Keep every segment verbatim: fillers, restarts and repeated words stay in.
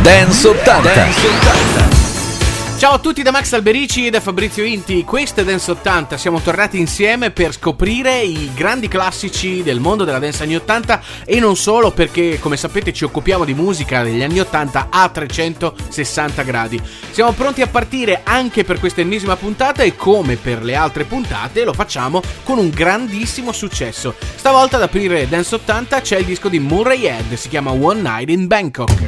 Dance ottanta. Dance ottanta. Ciao a tutti da Max Alberici e da Fabrizio Inti, questo è Dance ottanta, siamo tornati insieme per scoprire i grandi classici del mondo della dance anni ottanta e non solo, perché come sapete ci occupiamo di musica degli anni ottanta a trecentosessanta gradi. Siamo pronti a partire anche per questa ennesima puntata e come per le altre puntate lo facciamo con un grandissimo successo. Stavolta ad aprire Dance ottanta c'è il disco di Murray Head, si chiama One Night in Bangkok.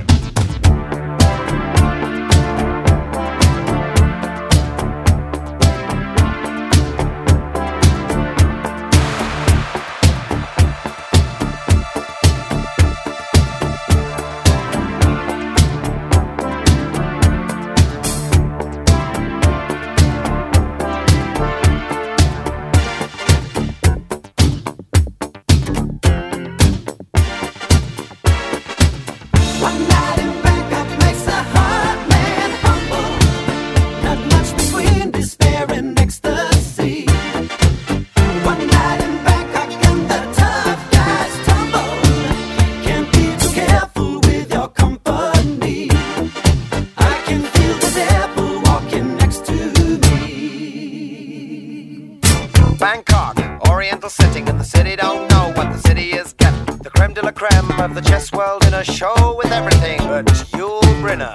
Bangkok, oriental setting, and the city don't know what the city is getting. The creme de la creme of the chess world in a show with everything but Yul Brynner.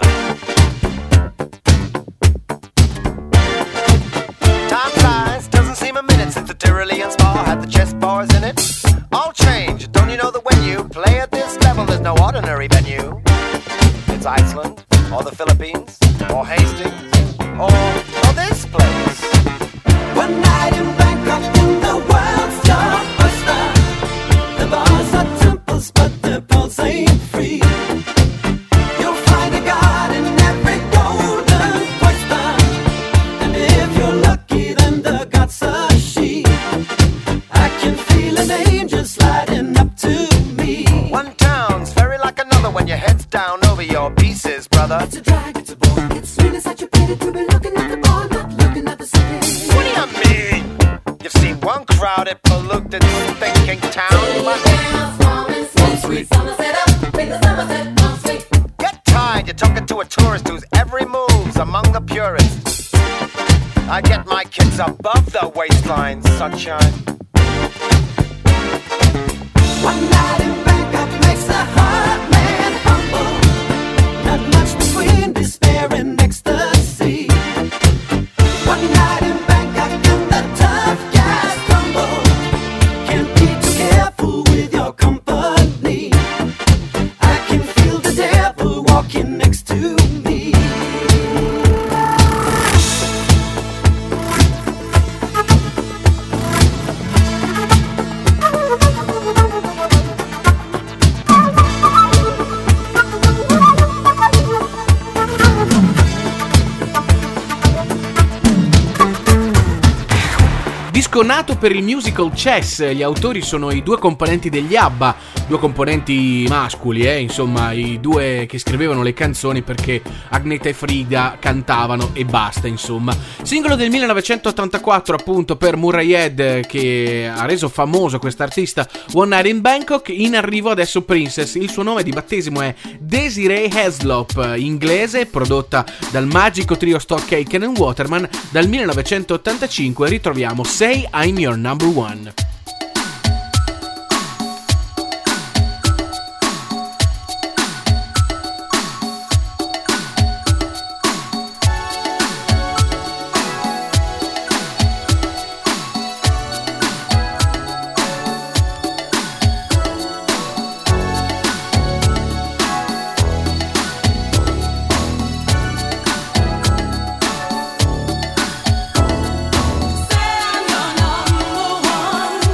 Time flies, doesn't seem a minute since the Tyrolean Spa had the chess bars in it. All change, don't you know that when you play at this level, there's no ordinary venue? It's Iceland, or the Philippines, or Hastings, or, or this place. One night in Bangkok in the world's your oyster. The bars are temples, but the pulse ain't free. You'll find a god in every golden oyster, and if you're lucky, then the god's a she. I can feel an angel sliding up to me. One town's very like another when your head's down over your pieces, brother. It's a drag, it's a bore, it's really such a pity to be looking at the bar, not looking at the city. What do you mean? You've seen one crowded, polluted, thinking town, but get tired, you're talking to a tourist whose every move's among the purists. I get my kids above the waistline, sunshine. One night in Bangkok makes a hard man humble. Not much between despair and ecstasy. One night in Bangkok and the tough guys crumble. Can't be too careful with your company. I can feel the devil walking next to me. Disco nato per il musical Chess, gli autori sono i due componenti degli ABBA, due componenti mascoli, eh, insomma i due che scrivevano le canzoni perché Agnetha e Frida cantavano e basta, insomma. Singolo del millenovecentottantaquattro appunto per Murray Head, che ha reso famoso quest'artista, One Night in Bangkok. In arrivo adesso Princess, il suo nome di battesimo è Desiree Heslop, inglese, prodotta dal magico trio Stock Aitken and Waterman. Dal millenovecentottantacinque ritroviamo Say I'm Your Number One. Say I'm your number one.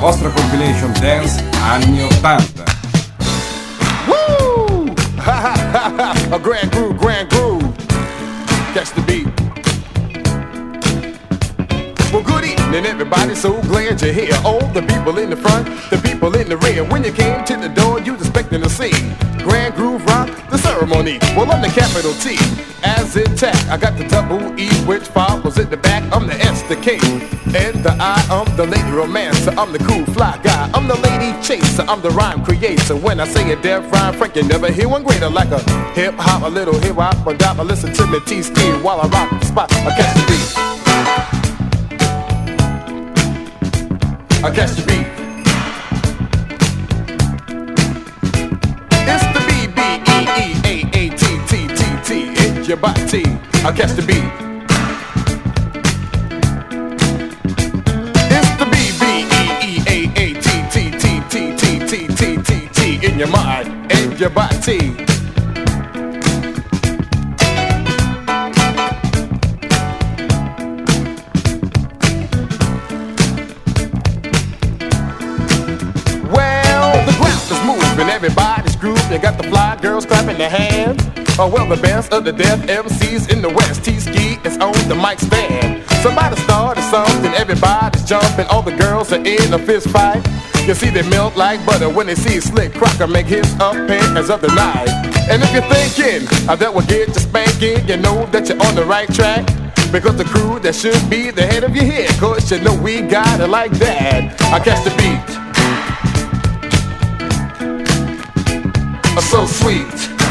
vostra compilation dance anni ottanta. Woo! Ha ha ha ha! A grand groove, grand groove. Catch the beat. Well, good evening, everybody. So glad you're here. All the people in the front, the people in the rear. When you came to the door, you was expecting to see Grand Groove Rock, the ceremony. Well, I'm the capital T, as intact. I got the double E, which follows at the back. I'm the S, the K, and the I. I'm the lady romancer. I'm the cool fly guy. I'm the lady chaser. I'm the rhyme creator. When I say a deaf rhyme, Frank, you never hear one greater. Like a hip hop, a little hip hop, a dop. Listen to me T-Ski while I rock the spot. I catch the beat. I catch the beat. It's the B B E E A A T T T T. It's your body. I catch the beat. It's the B B E E A A T T T T T T T T T. In your mind and your body. Everybody's groove, they got the fly girls clapping their hands. Oh well, the best of the deaf M Cs in the West. T-Ski is on the mic stand. Somebody started something, everybody's jumping. All the girls are in a fist fight. You see they melt like butter when they see Slick Crocker make his appearance of the night. And if you're thinking uh, that will get you spanking, you know that you're on the right track. Because the crew that should be the head of your head, cause you know we got it like that. I catch the beat. So sweet.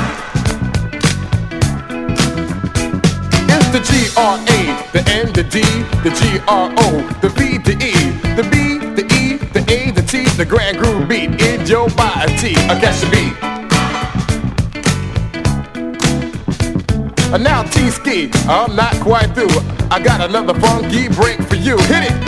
It's the G R A, the N, the D, the G R O, the B, the E, the B, the E, the A, the T, the grand groove beat in your body. I catch the beat. And now T-Ski, I'm not quite through. I got another funky break for you. Hit it.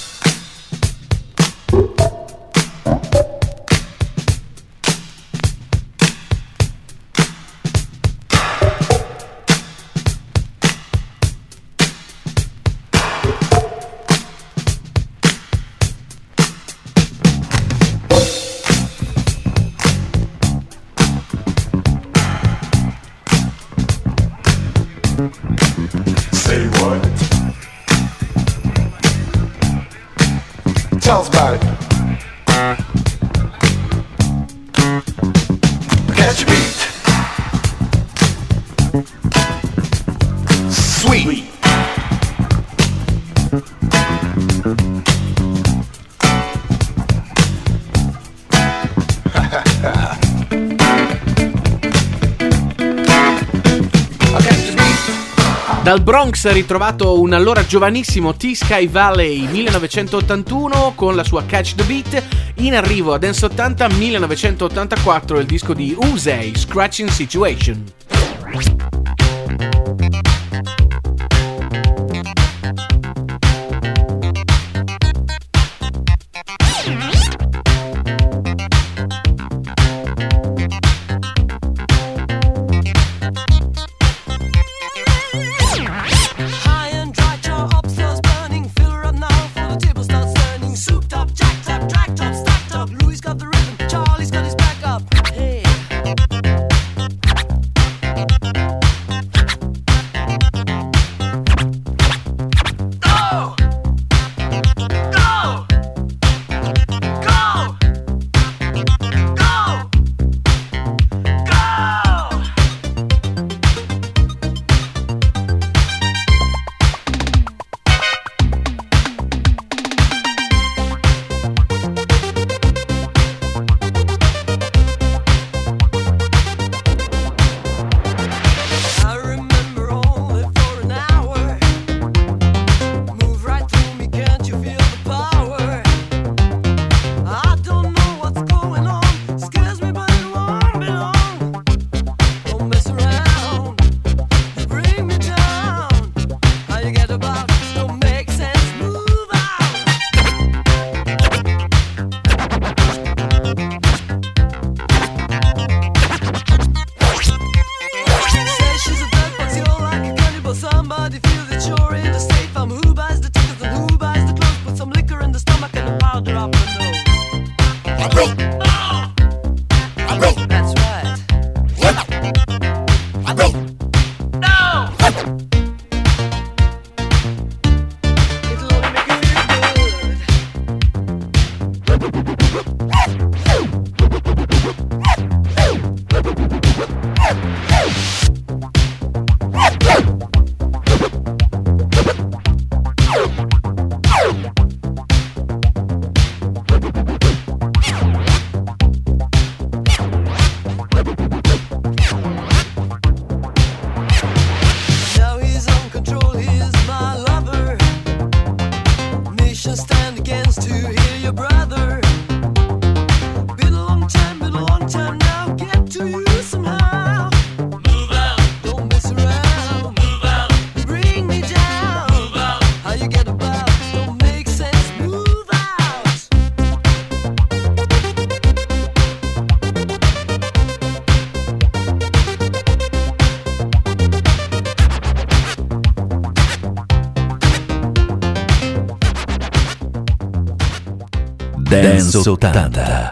Say what? Tell us about it. Catch your beat. Sweet. Dal Bronx ha ritrovato un allora giovanissimo T-Sky Valley millenovecentottantuno con la sua Catch the Beat. In arrivo a Dance ottanta millenovecentottantaquattro il disco di Usei, Scratching Situation. Louis got the rhythm, Charlie's got his back up. Hey. That's right. It'll only make you Now he's on control, he's my lover. Nation stand against to hear your brother. Been a long time, been a long time now. Get to you somehow. Move out. Don't mess around. Move out. Bring me down. Move out. How you get about? Don't make sense. Move out. Dance ottanta.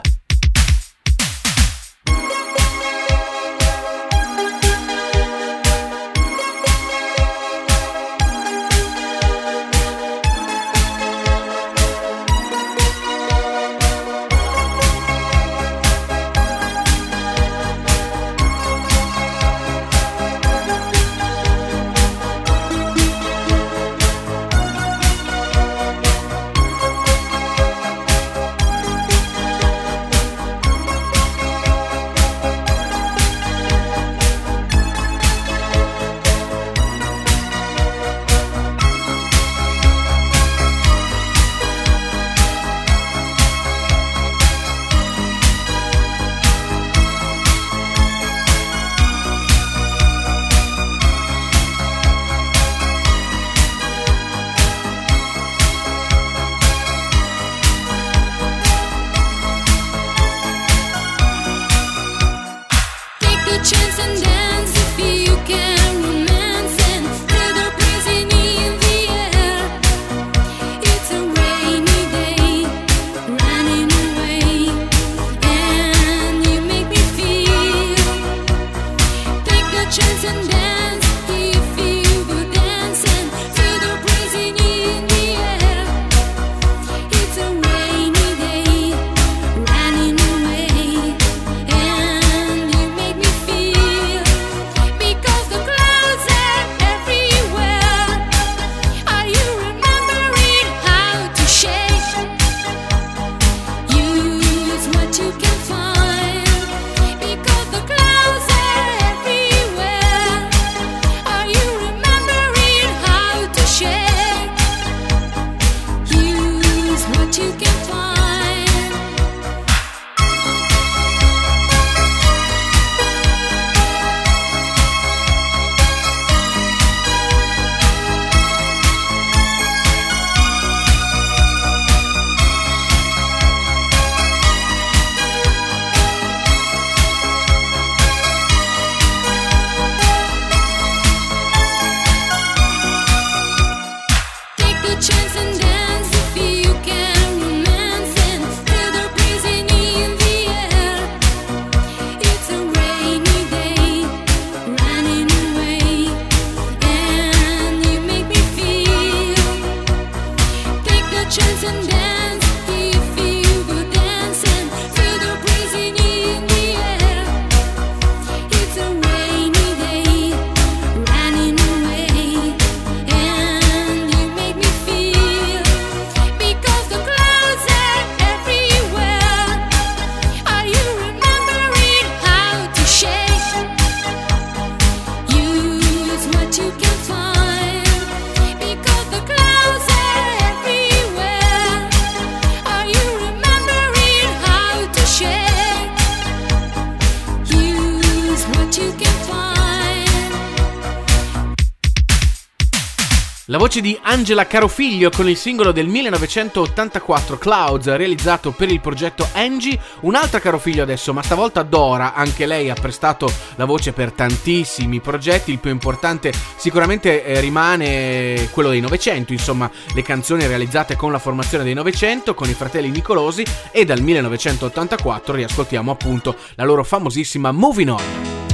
La voce di Angela Carofiglio con il singolo del millenovecentottantaquattro Clouds, realizzato per il progetto Angie. Un'altra Carofiglio adesso, ma stavolta Dora. Anche lei ha prestato la voce per tantissimi progetti. Il più importante sicuramente eh, rimane quello dei Novecento, insomma le canzoni realizzate con la formazione dei Novecento, con i fratelli Nicolosi, e dal millenovecentottantaquattro riascoltiamo appunto la loro famosissima Moving On.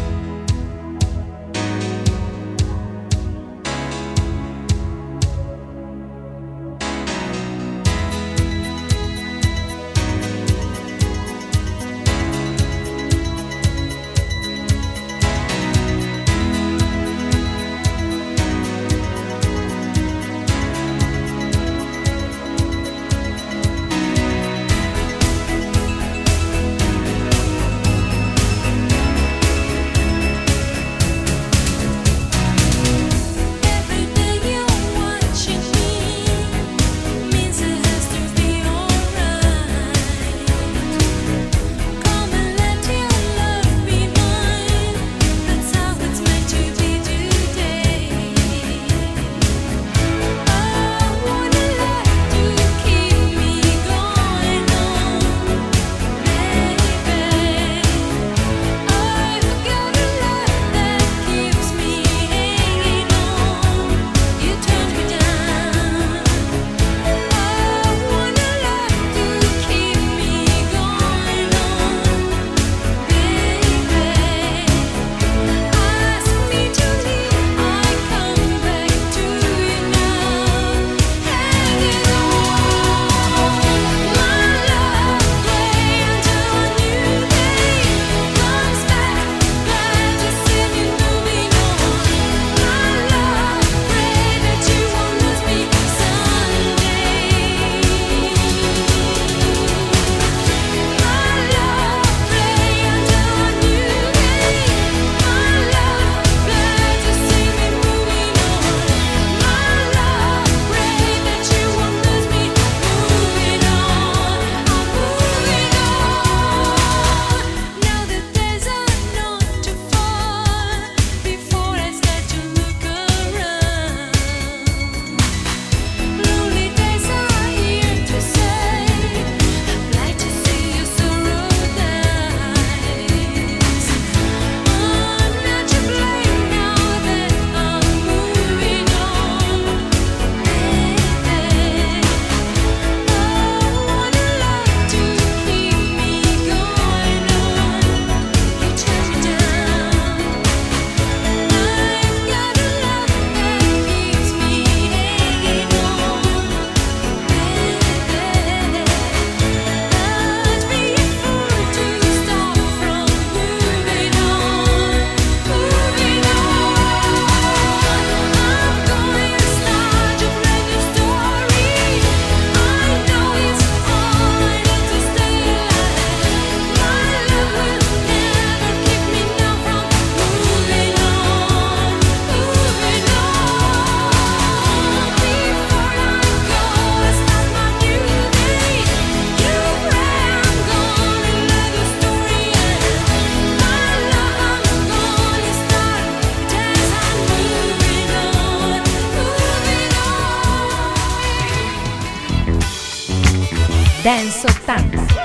Dance ottanta.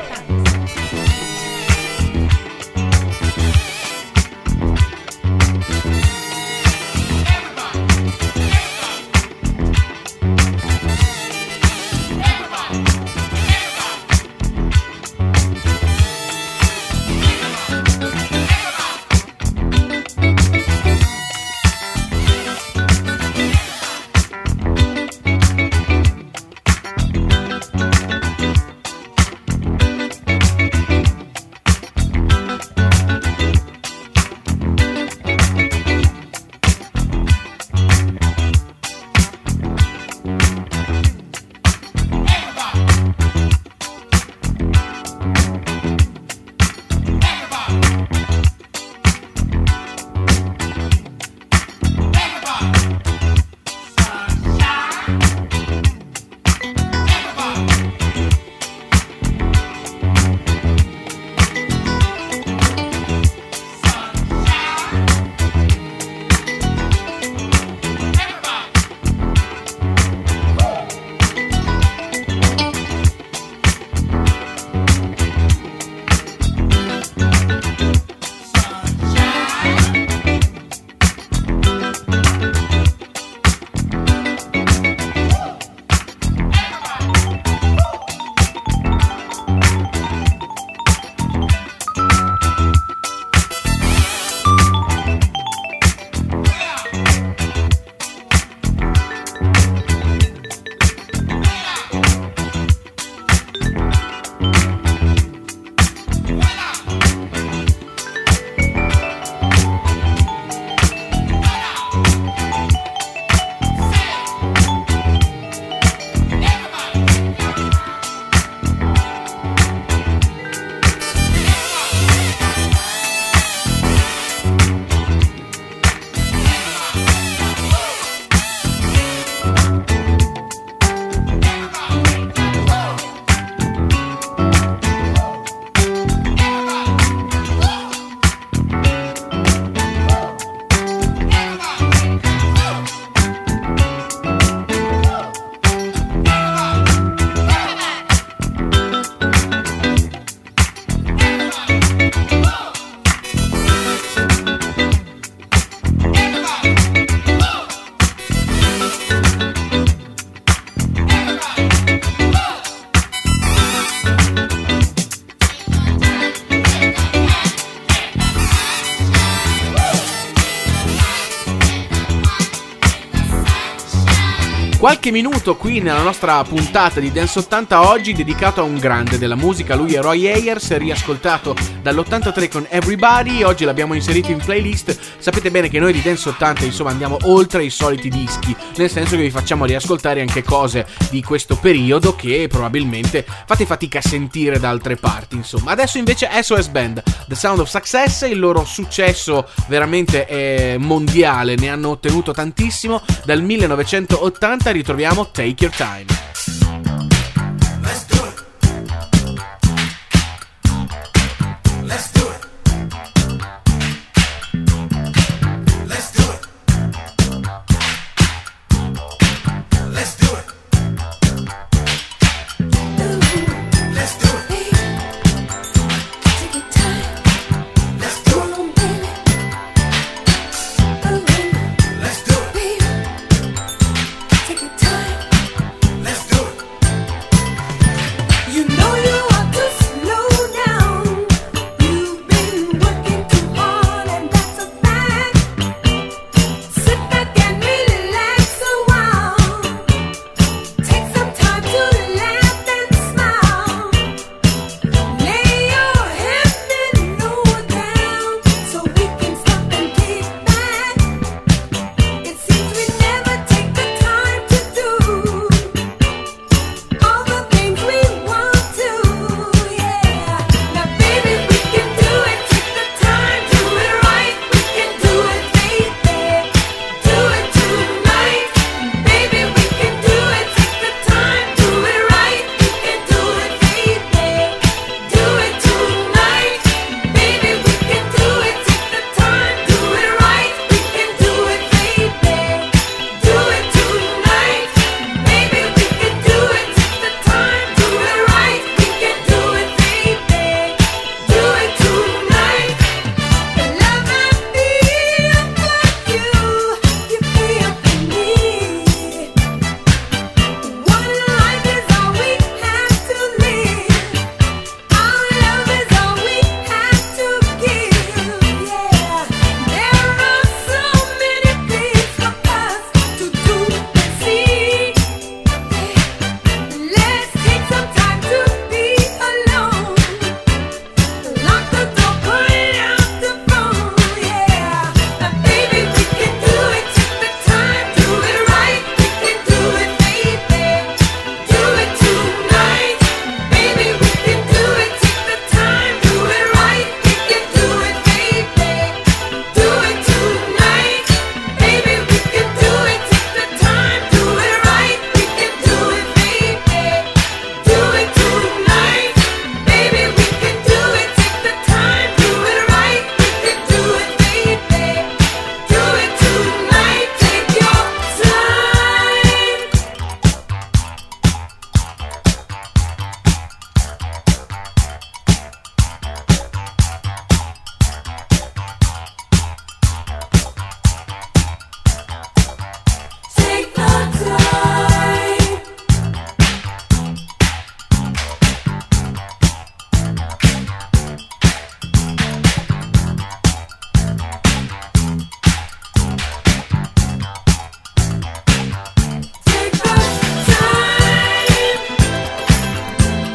qualche minuto qui nella nostra puntata di Dance ottanta oggi dedicato a un grande della musica. Lui è Roy Ayers, riascoltato dall'ottantatré con Everybody. Oggi l'abbiamo inserito in playlist. Sapete bene che noi di Dance ottanta insomma andiamo oltre i soliti dischi, nel senso che vi facciamo riascoltare anche cose di questo periodo che probabilmente fate fatica a sentire da altre parti. Insomma, adesso invece S O S Band, The Sound of Success, il loro successo veramente è mondiale, ne hanno ottenuto tantissimo. Dal millenovecentottanta ritroviamo Take Your Time. Let's do it. Let's do it. Let's do it. Let's do it. Let's do it. Take your time. Let's do it. Let's do it. Take your time. Let's do it. You know you ought to slow down. You've been working too hard and that's a fact. Sit back and relax a while. Take some time to laugh and smile. Lay your head and lower down so we can stop and kick back. It seems we never take the time to do all the things we want to, yeah. Now baby, we can do it, take the time, do it right. We can do it, baby, do it tonight. Baby, we can do it, take the time, do it right. We can do it, baby, do it tonight. Baby, we can do it, take the time, do it right. We can do it, baby, do it tonight. Baby, we can do it, take the time, do it right. We can do it, baby, do it tonight. The love I feel for you, you feel for me. One life is all we have to live. Our love is all we have to give, yeah. There are so many things for us to do and see. Let's take some time to be alone. Lock the door, put out the phone, yeah. Now baby, we can do it, take the time, do it right. We can do it, baby, do it tonight. Baby, we can do it, take the time, do it right. We can do it, baby, do it tonight. Baby, we can do it, take the time, do it right. We can do it, baby, do it tonight. Baby, we can do it, take the time, do it right. We can do it, baby, do it tonight. Take your time. Take the time. Take the time.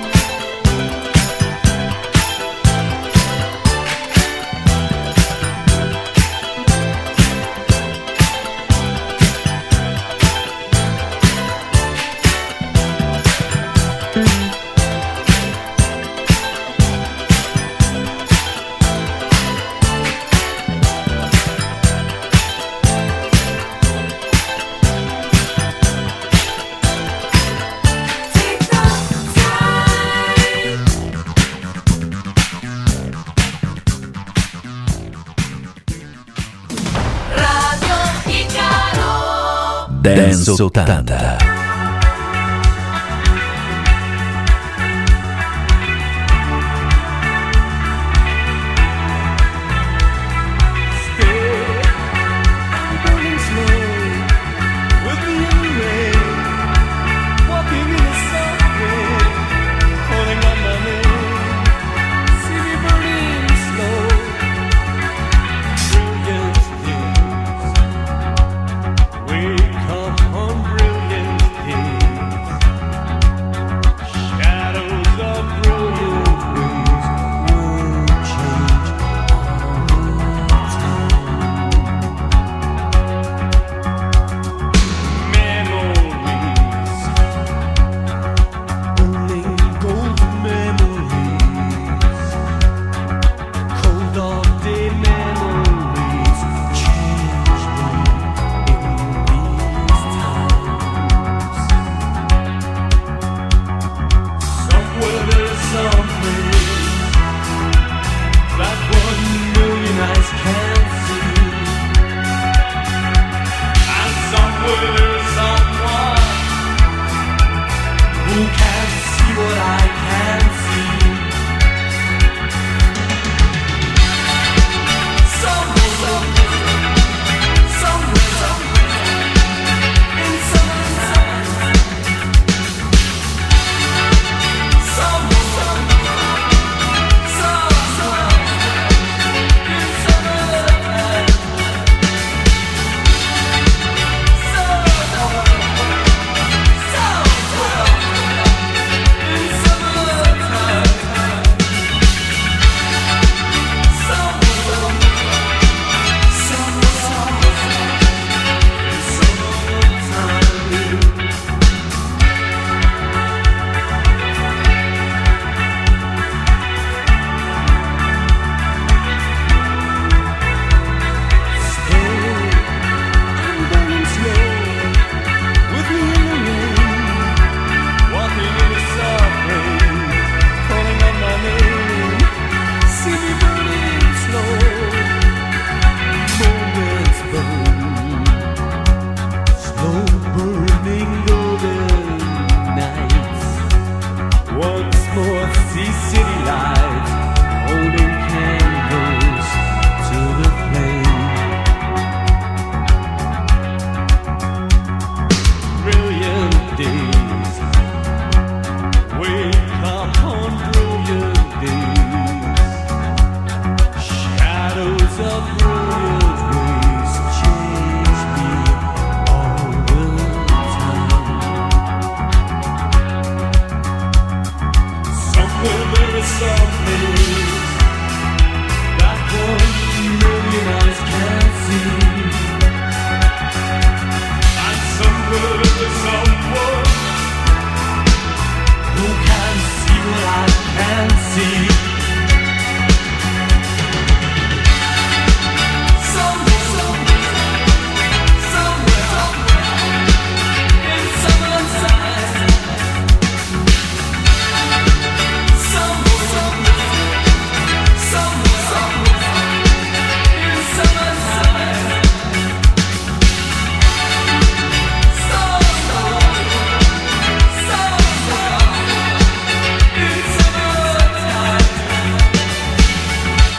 Take the time. Radio Icaro. Dance ottanta. We come on brilliant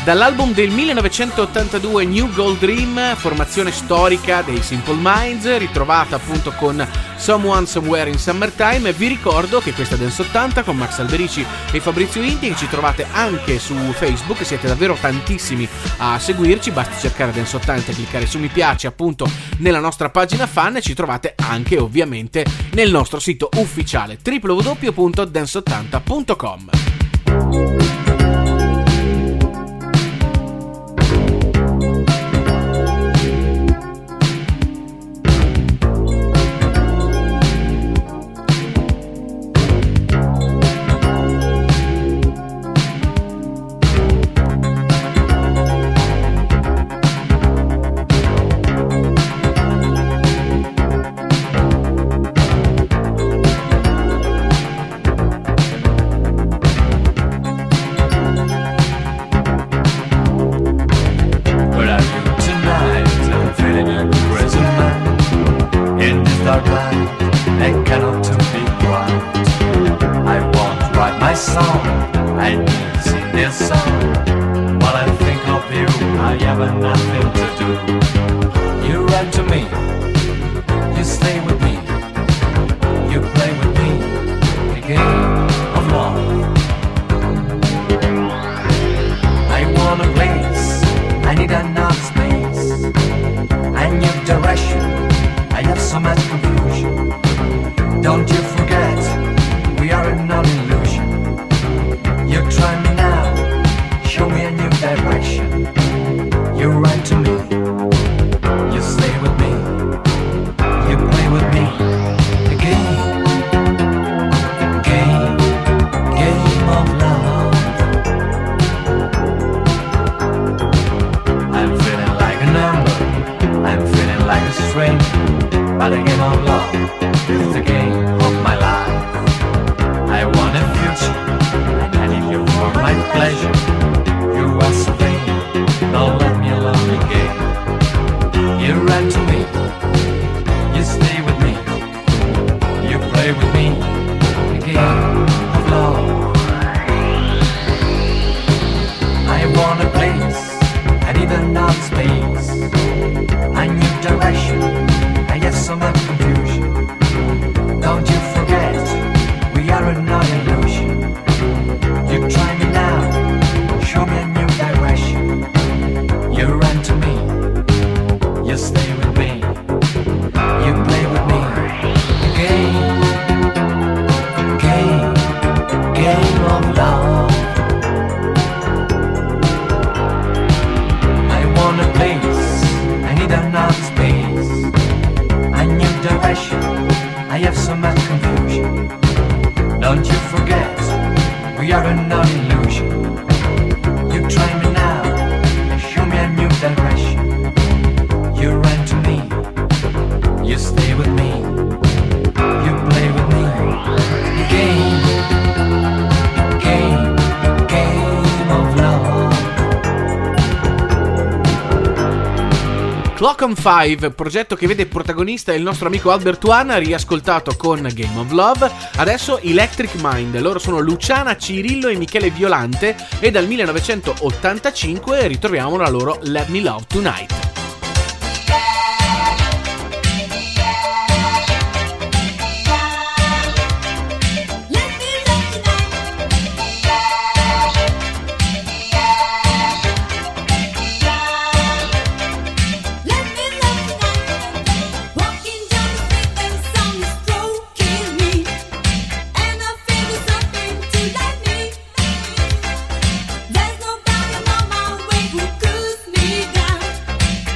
Dall'album del millenovecentottantadue New Gold Dream, formazione storica dei Simple Minds, ritrovata appunto con Someone Somewhere in Summertime. Vi ricordo che questa Dance ottanta con Max Alberici e Fabrizio Inti, che ci trovate anche su Facebook, siete davvero tantissimi a seguirci, basta cercare Dance ottanta e cliccare su mi piace appunto nella nostra pagina fan, e ci trovate anche ovviamente nel nostro sito ufficiale w w w punto dance ottanta punto com. Clock on Five, progetto che vede protagonista il nostro amico Albert One, riascoltato con Game of Love. Adesso Electric Mind, loro sono Luciana Cirillo e Michele Violante, e dal millenovecentottantacinque ritroviamo la loro Let Me Love Tonight. There's nobody on my way who cools me down.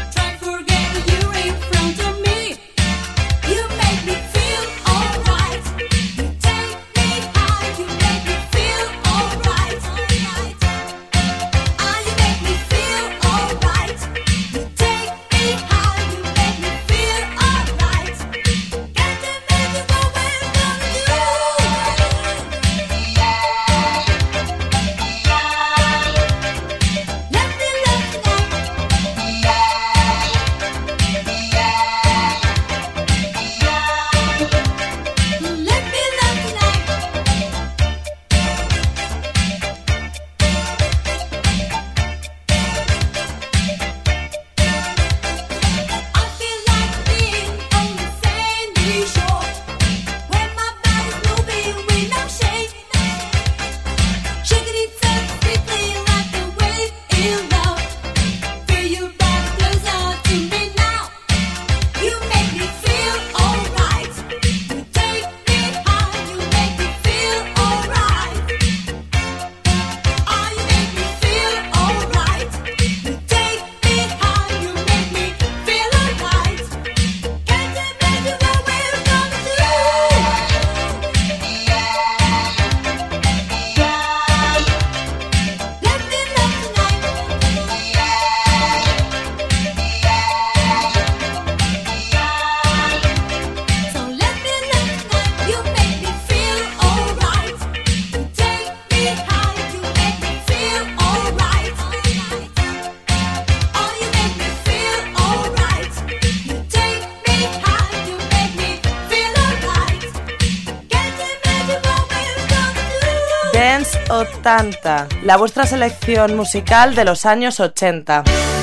ottanta, la vuestra selección musical de los años ochenta.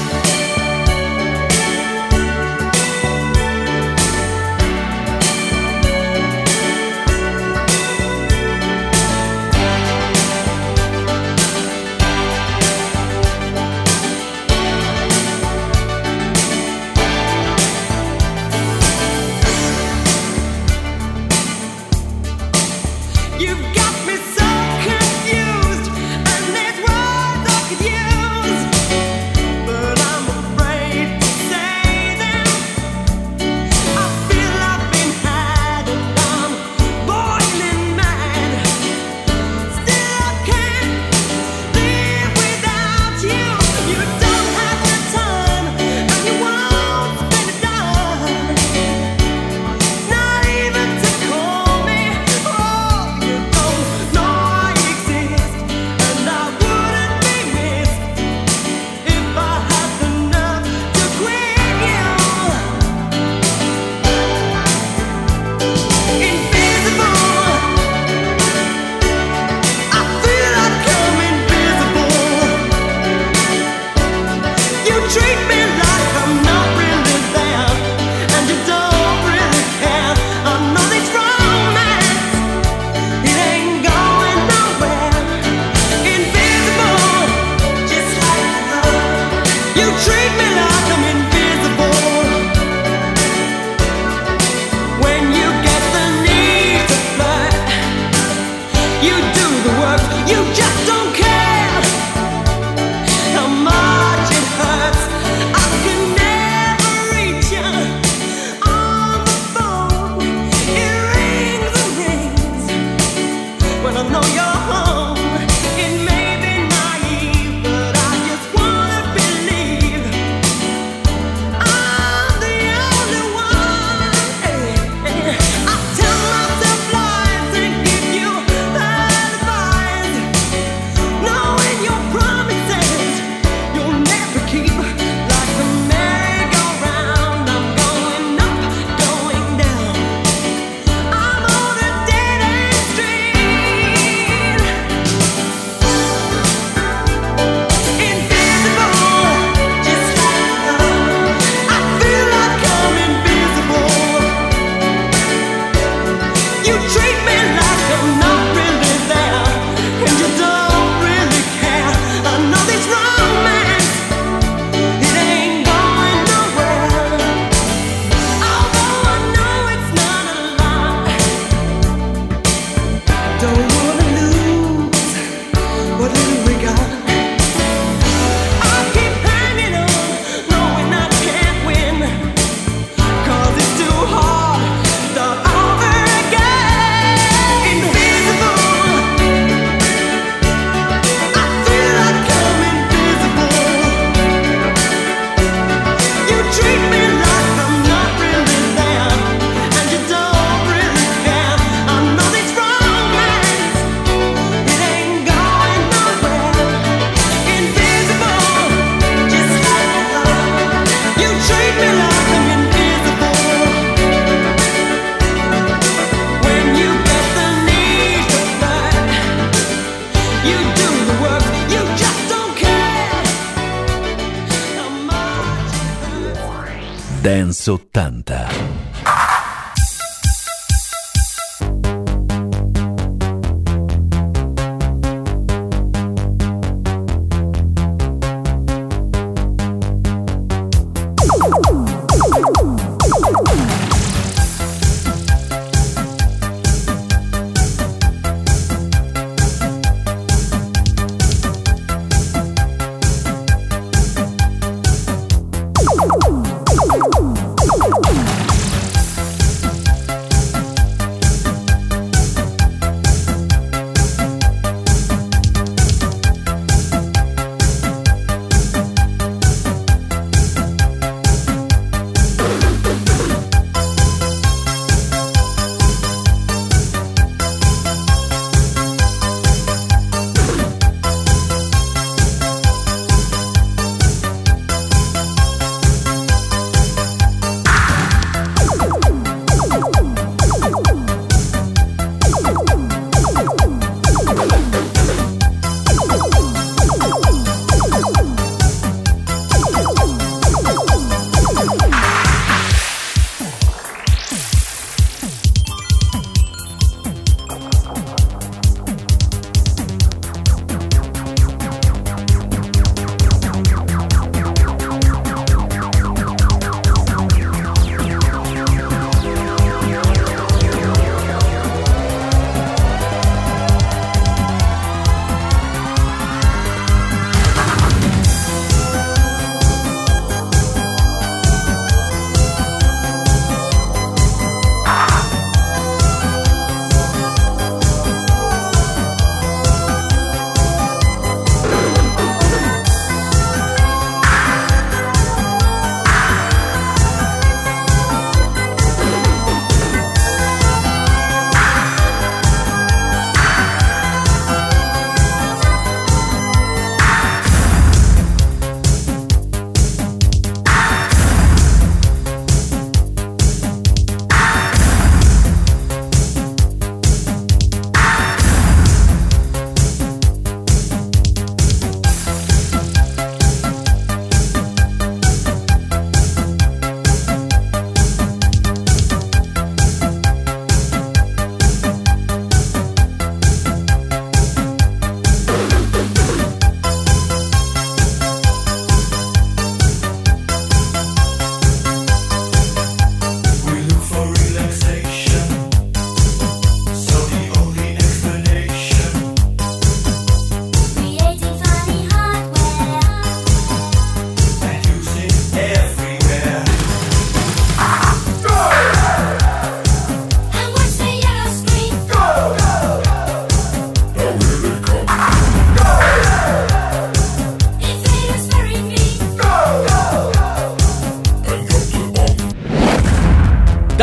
Dance ottanta.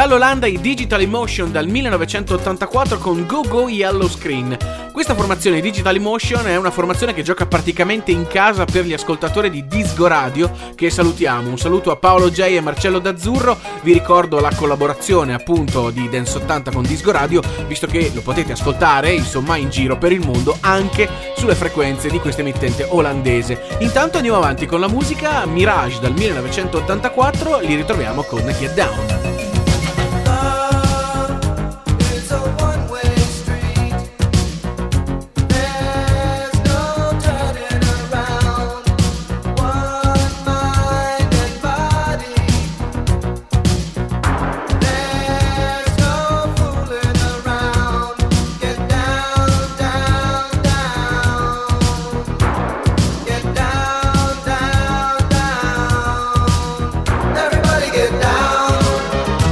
Dall'Olanda i Digital Emotion dal millenovecentottantaquattro con Go Go Yellow Screen. Questa formazione Digital Emotion è una formazione che gioca praticamente in casa per gli ascoltatori di Disco Radio, che salutiamo. Un saluto a Paolo J e Marcello D'Azzurro. Vi ricordo la collaborazione appunto di Dance ottanta con Disco Radio, visto che lo potete ascoltare insomma in giro per il mondo anche sulle frequenze di questa emittente olandese. Intanto andiamo avanti con la musica. Mirage dal millenovecentottantaquattro, li ritroviamo con Get Down. Everybody get down.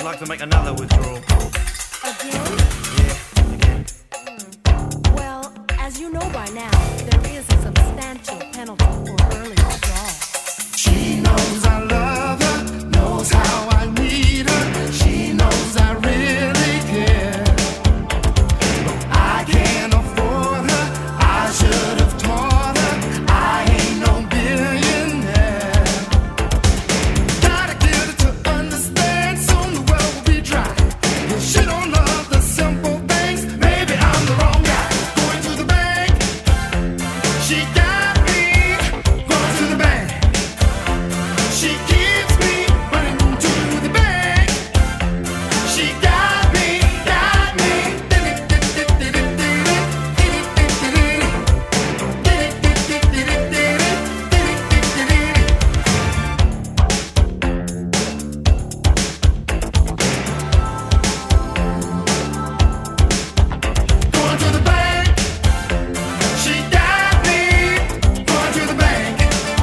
like to make another withdrawal. Again? Yeah, again. Hmm. Well, as you know by now, there is a substantial penalty for early withdrawal. She knows I love her, knows how I need her. She knows I really care. But I can't afford her, I should have taught her. I ain't no billionaire. Gotta get her to understand, soon the world will be dry. If she don't love the simple things, maybe I'm the wrong guy. Going to the bank, she got me. Going to the bank, she keeps me running to the bank. She got me, got me. Going to the bank, she got me. Going to the bank.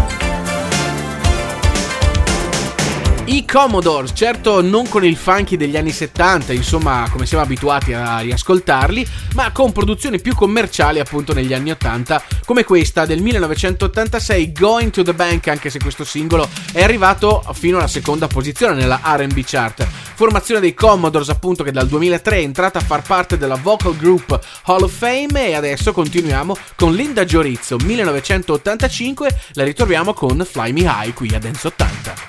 I Commodores, certo non con il funky degli anni settanta, insomma come siamo abituati a riascoltarli, ma con produzioni più commerciali appunto negli anni ottanta, come questa del millenovecentottantasei, Going to the Bank, anche se questo singolo è arrivato fino alla seconda posizione nella R and B chart. Formazione dei Commodores appunto che dal duemilatré è entrata a far parte della Vocal Group Hall of Fame, e adesso continuiamo con Linda Giorizzo, millenovecentottantacinque, la ritroviamo con Fly Me High qui a Dance ottanta.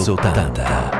ottanta.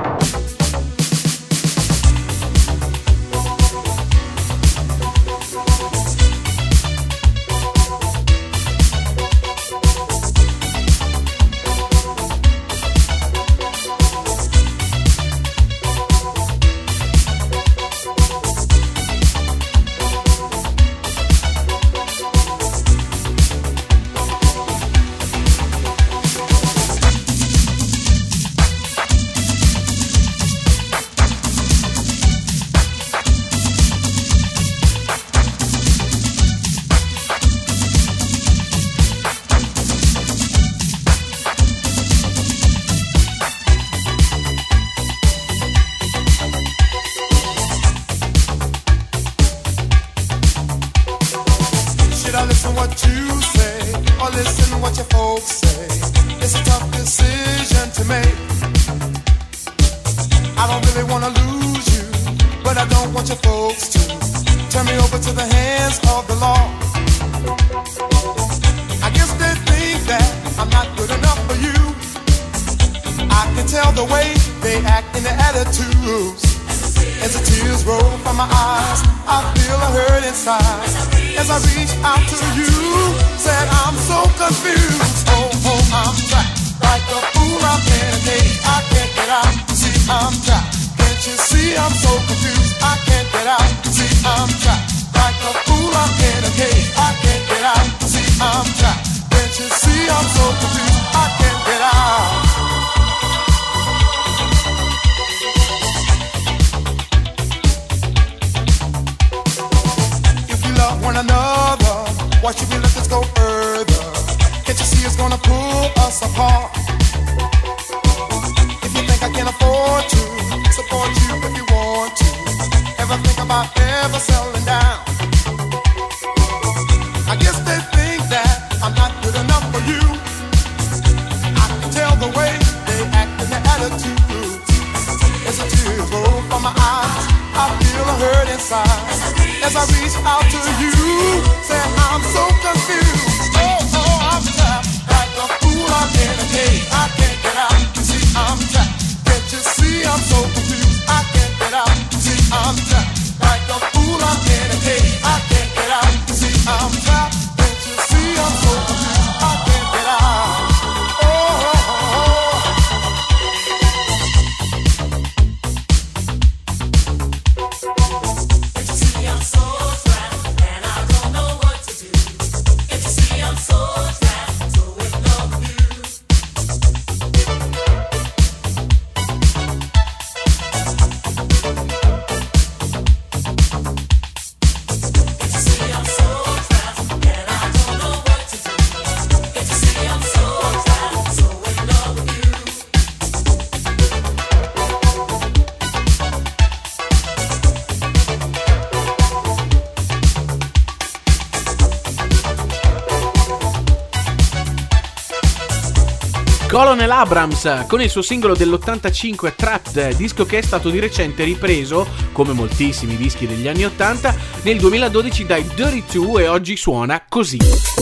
Colonel Abrams con il suo singolo dell'ottantacinque Trapped, disco che è stato di recente ripreso, come moltissimi dischi degli anni ottanta, nel duemiladodici dai Dirty Two e oggi suona così.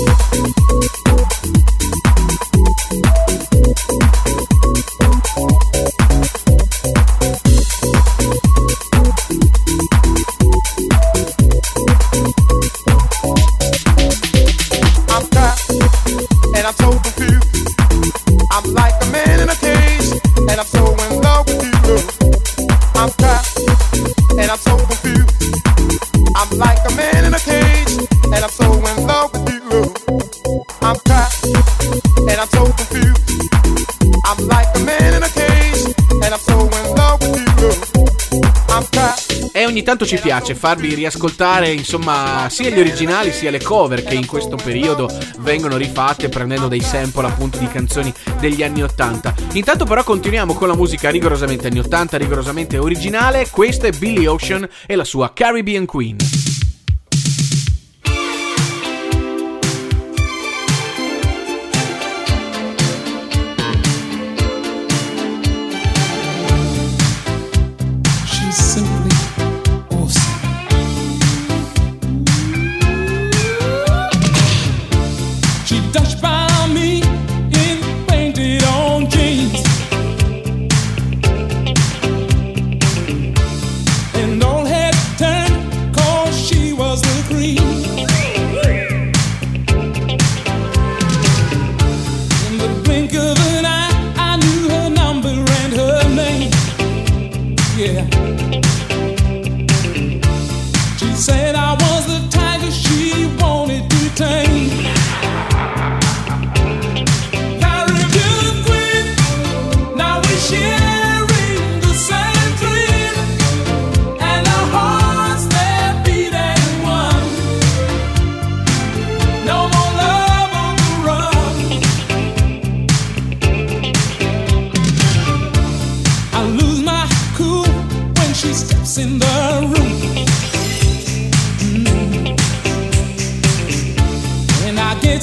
Ogni tanto ci piace farvi riascoltare, insomma, sia gli originali sia le cover che in questo periodo vengono rifatte prendendo dei sample appunto di canzoni degli anni ottanta. Intanto però continuiamo con la musica rigorosamente anni ottanta, rigorosamente originale. Questa è Billy Ocean e la sua Caribbean Queen.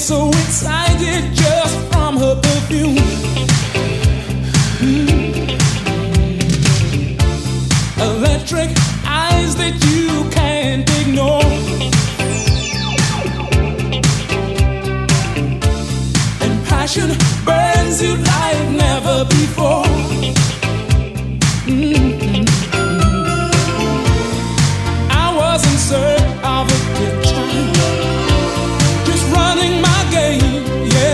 so excited just from her perfume. Mm. Electric eyes that you can't ignore. And passion burns you like never before. Mm-hmm. I was in search of a picture, just running my game, yeah.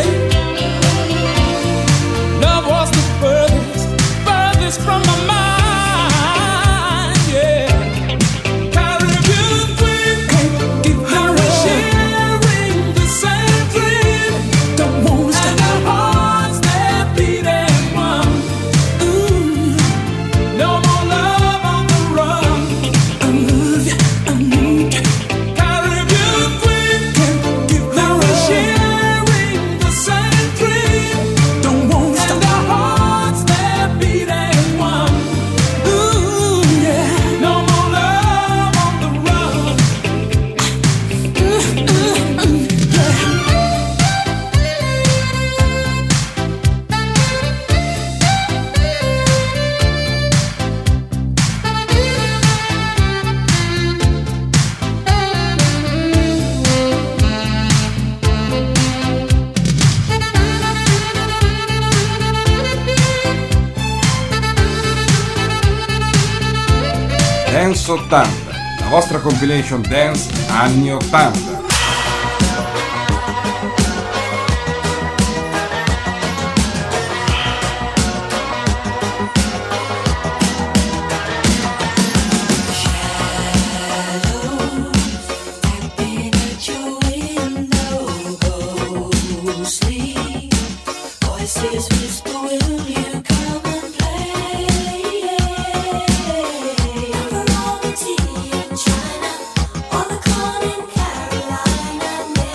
Love was the furthest, furthest from my mind, yeah. Caribbean queen, can't give her a sharing the same dream. Don't want to stop. And our hearts, they're beating one. Ooh, no more love on the run. I love you, I need you. Caribbean queen, can't give her a sharing the same dream. Don't want to stop. And our hearts, they're beating one. Ooh, yeah, no more love on the run. Ooh, ooh, ooh, yeah. Dance ottanta, la vostra compilation dance anni ottanta. Voices whisper, will you come and play? Variety in China, or the corn in Carolina.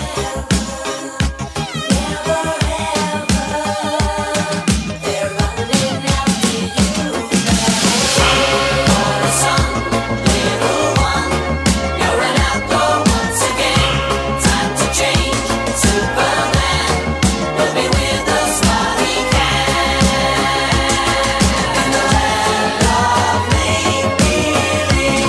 Never, never, ever. They're running after you. For the sun, little one, you're an outlaw once again. Time to change, Superman will be with us while he can. In the land of make-believe.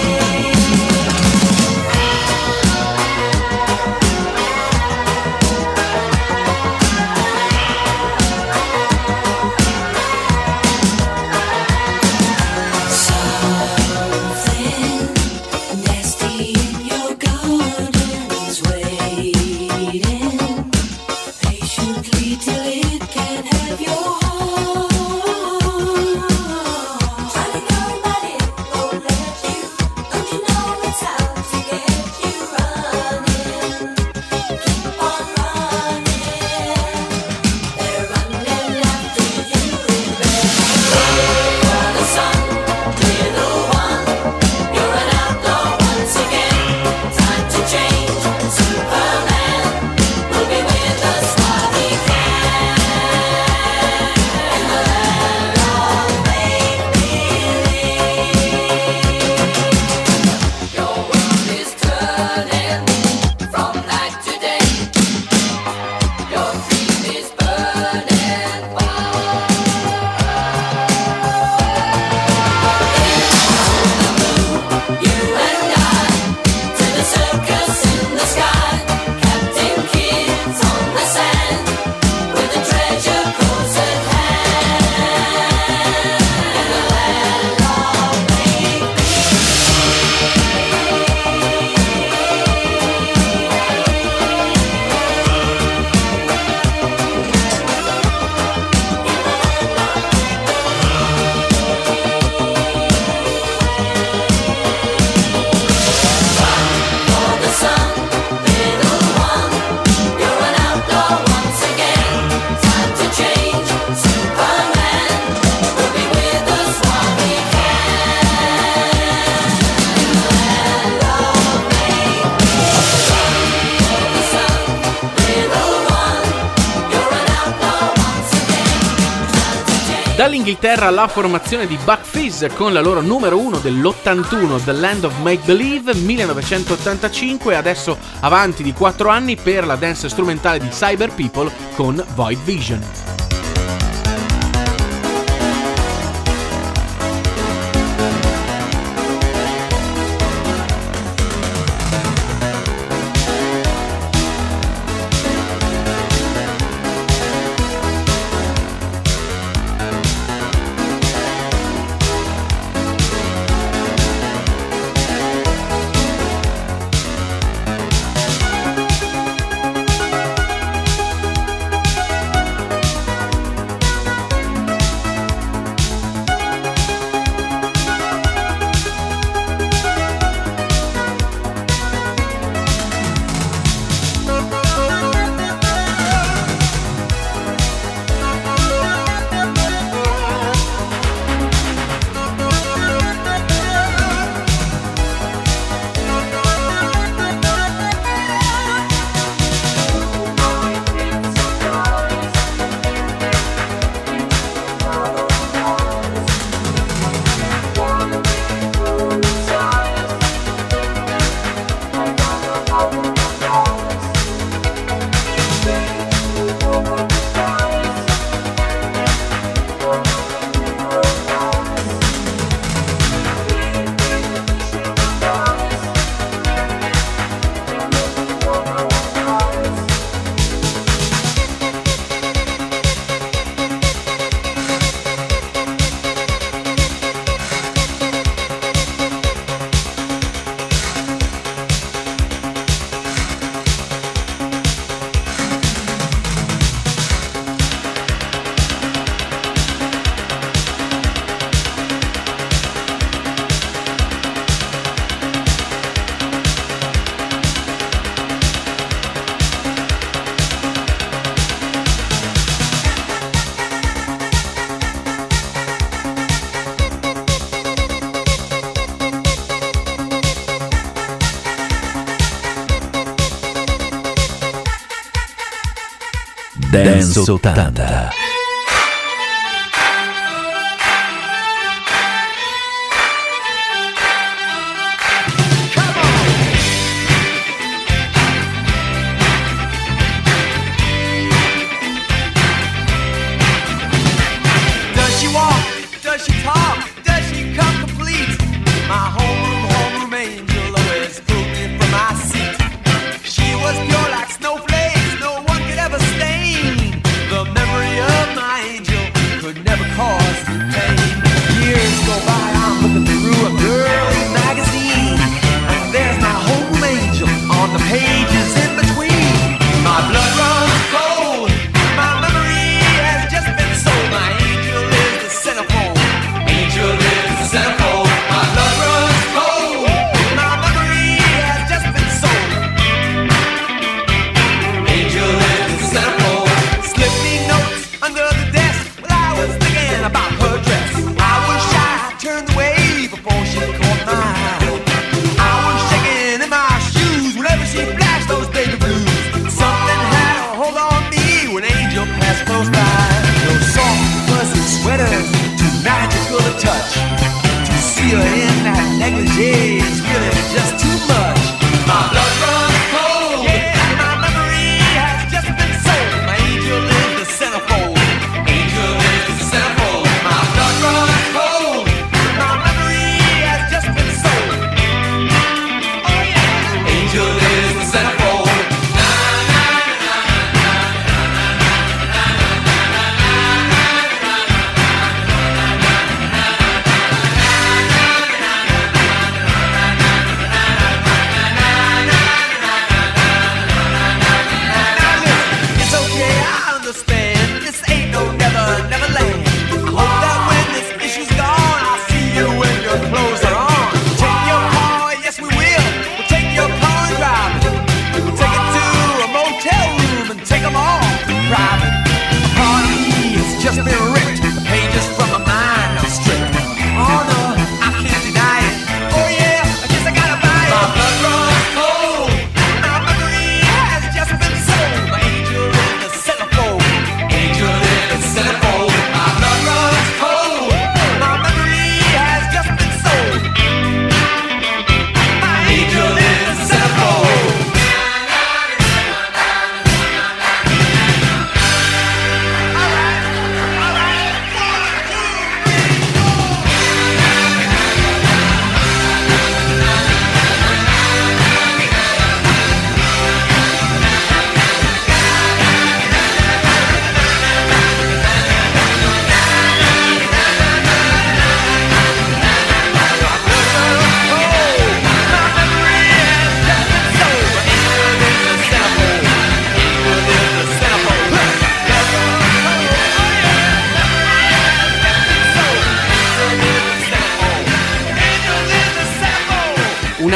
Something nasty in your garden's waiting patiently till it can have your heart. Trying to go, but it won't let you. Don't you know it's out to get you running? Keep on running. They're running after you. For the sun, little one, you're an outlaw once again. Time to change, Superman will be with us while he can. In the land of make-believe. Your world is turning from night to day. Your dream is burning wild. You and I, to the circus in the sky. Captain Kidd's on the sand, with the treasure close at hand. In the land of make-believe. Dall'Inghilterra la formazione di Buck Fizz con la loro numero uno dell'ottantuno, The Land of Make Believe, millenovecentottantacinque, adesso avanti di quattro anni per la dance strumentale di Cyber People con Void Vision. Dance ottanta. Does she walk? Does she talk? Does she come complete? My homeroom, homeroom angel always pulled me from my seat. She was pure like snowflakes, no one could ever stain the memory of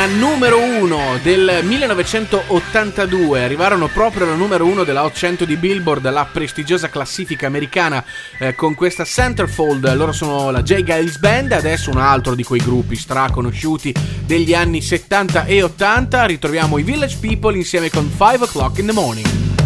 una numero uno del millenovecentottantadue. Arrivarono proprio alla numero uno della Hot cento di Billboard, la prestigiosa classifica americana, eh, con questa Centerfold. Loro sono la J. Geils Band, adesso un altro di quei gruppi straconosciuti degli anni settanta e ottanta. Ritroviamo i Village People insieme con five o'clock in the morning.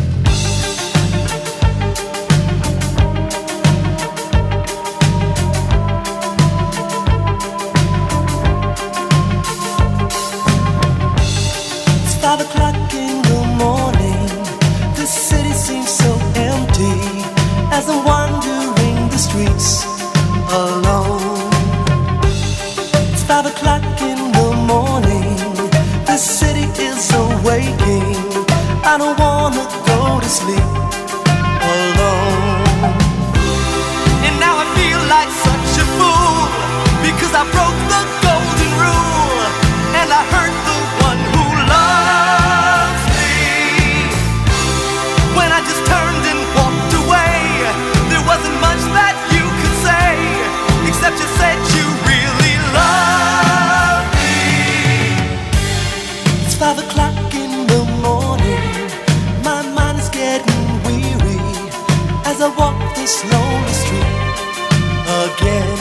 Five o'clock in the morning, the city seems so empty as I'm wandering the streets alone. It's five o'clock in the morning, the city is awaking. I don't wanna go to sleep alone. And now I feel like such a fool because I broke the golden rule and I hurt the one who loves me. When I just turned and walked away, there wasn't much that you could say, except you said you really love me. It's five o'clock in the morning, my mind is getting weary as I walk this lonely street again.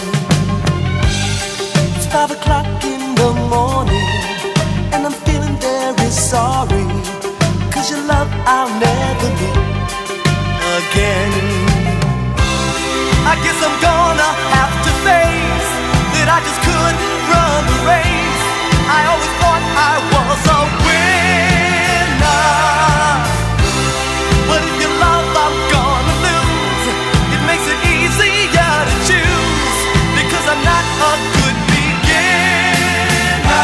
It's five o'clock in the morning, and I'm feeling very sorry, cause your love I'll never meet again. I guess I'm gonna have to face that I just couldn't run the race. I always thought I was a winner, but if your love I'm gonna lose, it makes it easier to choose, because I'm not a good beginner.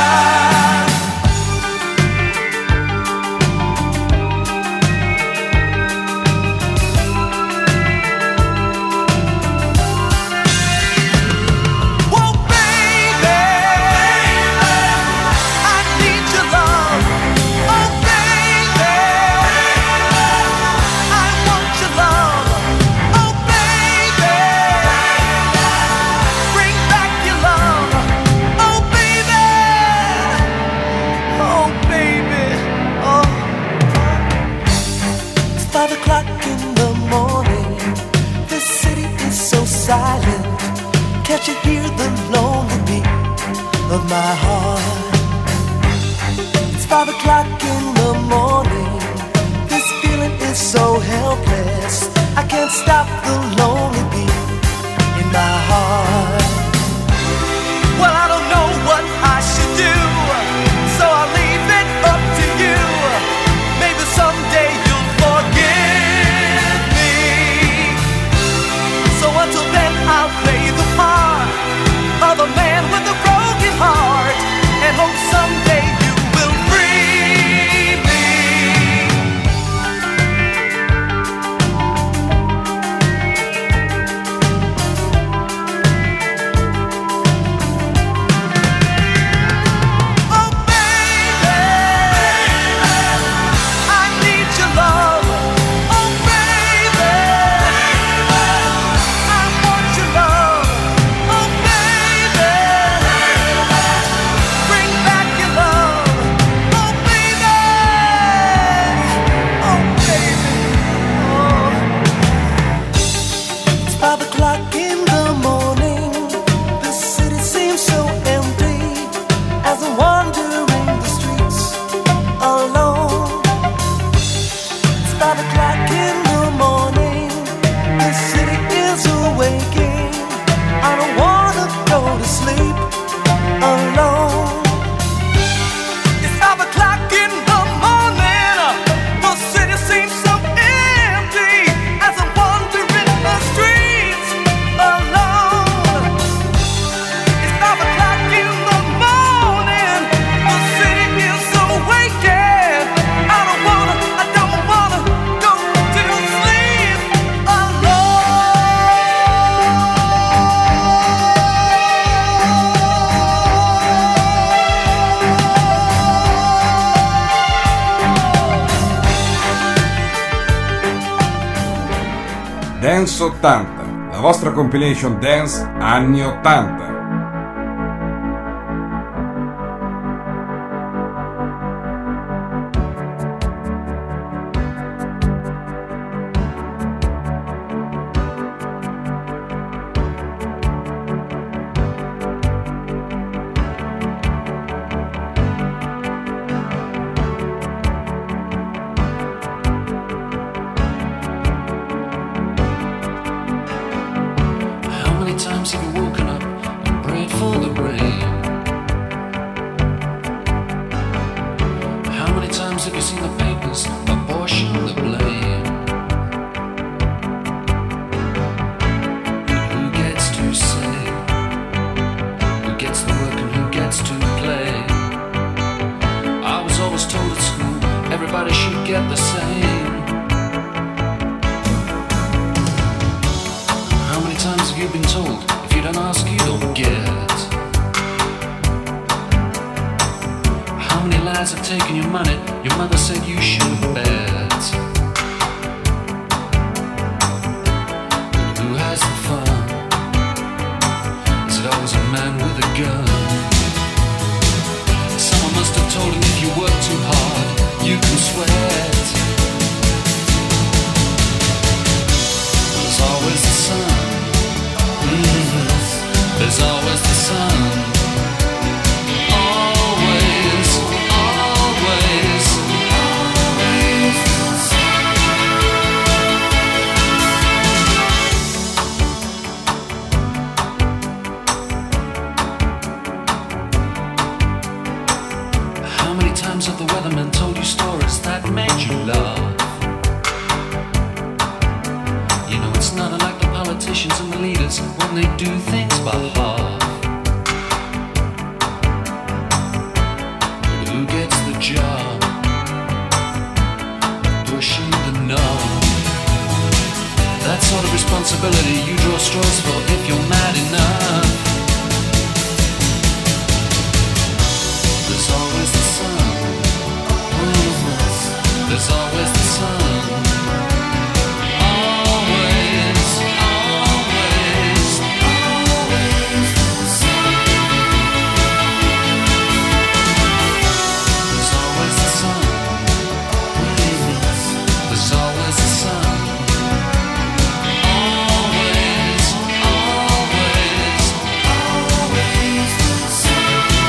Can't you hear the lonely beat of my heart? It's five o'clock in the morning, this feeling is so helpless. I can't stop the lonely beat in my heart. Well, I don't know what I should do, so I'll leave it up to you. Maybe someday you'll forgive me. So until then I'll play the part of a man with a broken heart, and hope someday you will free me. Oh baby, I need your love. Oh baby, I want your love. Oh baby, bring back your love. Oh baby, oh baby, oh. It's five o'clock in the morning, the city seems so empty as I'm wandering the streets alone. It's five o'clock in the morning, the city is awaking. I don't wanna go to sleep alone. It's five o'clock in the morning, the city seems so empty as I'm wandering the streets alone. It's five o'clock in the morning, the city is awaking. I don't wanna, I don't wanna go to sleep alone. Dance ottanta, la vostra compilation dance anni ottanta. times have you seen the papers apportion the blame? Who gets to say? Who gets the work and who gets to play? I was always told at school everybody should get the same. How many times have you been told if you don't ask you don't get? How many lads have taken your money? Your mother said you should bet. But who has the fun? Is it always a man with a gun? Someone must have told him if you work too hard, you can sweat. There's always the sun. Mm-hmm. There's always the sun. Have the weathermen told you stories that made you laugh? You know it's not unlike the politicians and the leaders when they do things by half. But who gets the job? Pushing the knob. That sort of responsibility you draw straws for if you're mad enough. There's always the sun. There's always the sun. Always, always, always the sun. There's always the sun. There's always the sun. Always, always, always the sun.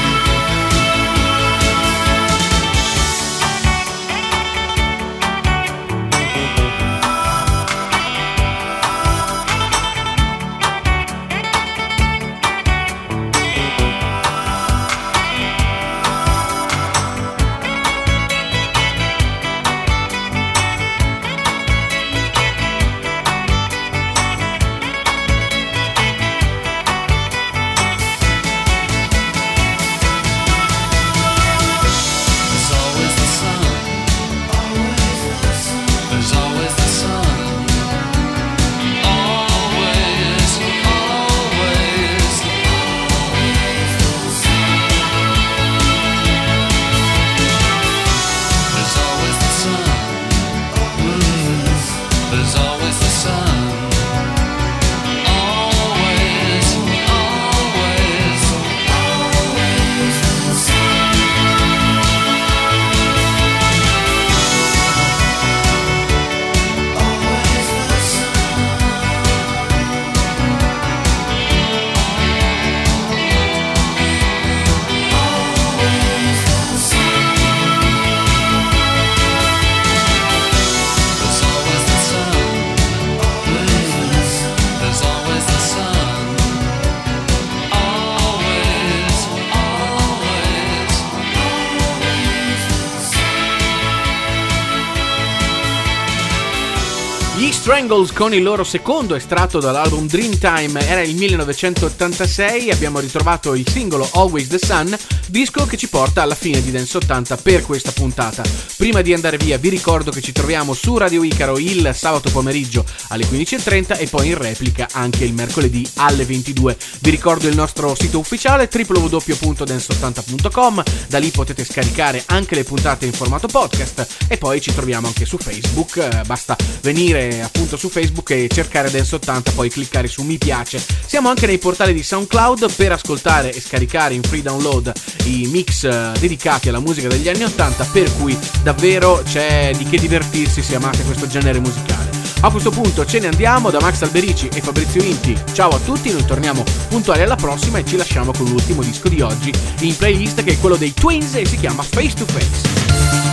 Strangles con il loro secondo estratto dall'album Dreamtime era il millenovecentottantasei. Abbiamo ritrovato il singolo Always the Sun, disco che ci porta alla fine di Dance ottanta per questa puntata. Prima di andare via vi ricordo che ci troviamo su Radio Icaro il sabato pomeriggio alle quindici e trenta e poi in replica anche il mercoledì alle ventidue. Vi ricordo il nostro sito ufficiale w w w punto dance ottanta punto com, da lì potete scaricare anche le puntate in formato podcast e poi ci troviamo anche su Facebook, basta venire appunto su Facebook e cercare Dance ottanta, poi cliccare su mi piace. Siamo anche nei portali di SoundCloud per ascoltare e scaricare in free download i mix dedicati alla musica degli anni ottanta, per cui davvero c'è di che divertirsi se amate questo genere musicale. A questo punto ce ne andiamo da Max Alberici e Fabrizio Inti. Ciao a tutti, noi torniamo puntuali alla prossima e ci lasciamo con l'ultimo disco di oggi in playlist, che è quello dei Twins e si chiama Face to Face.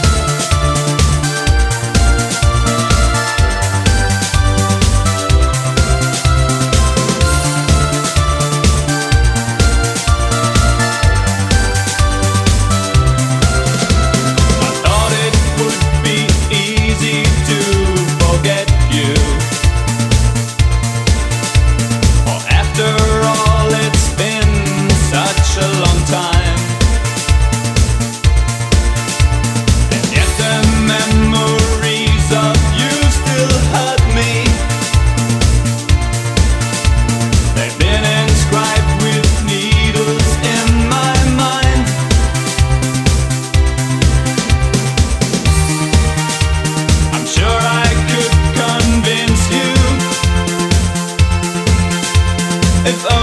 I thought it It's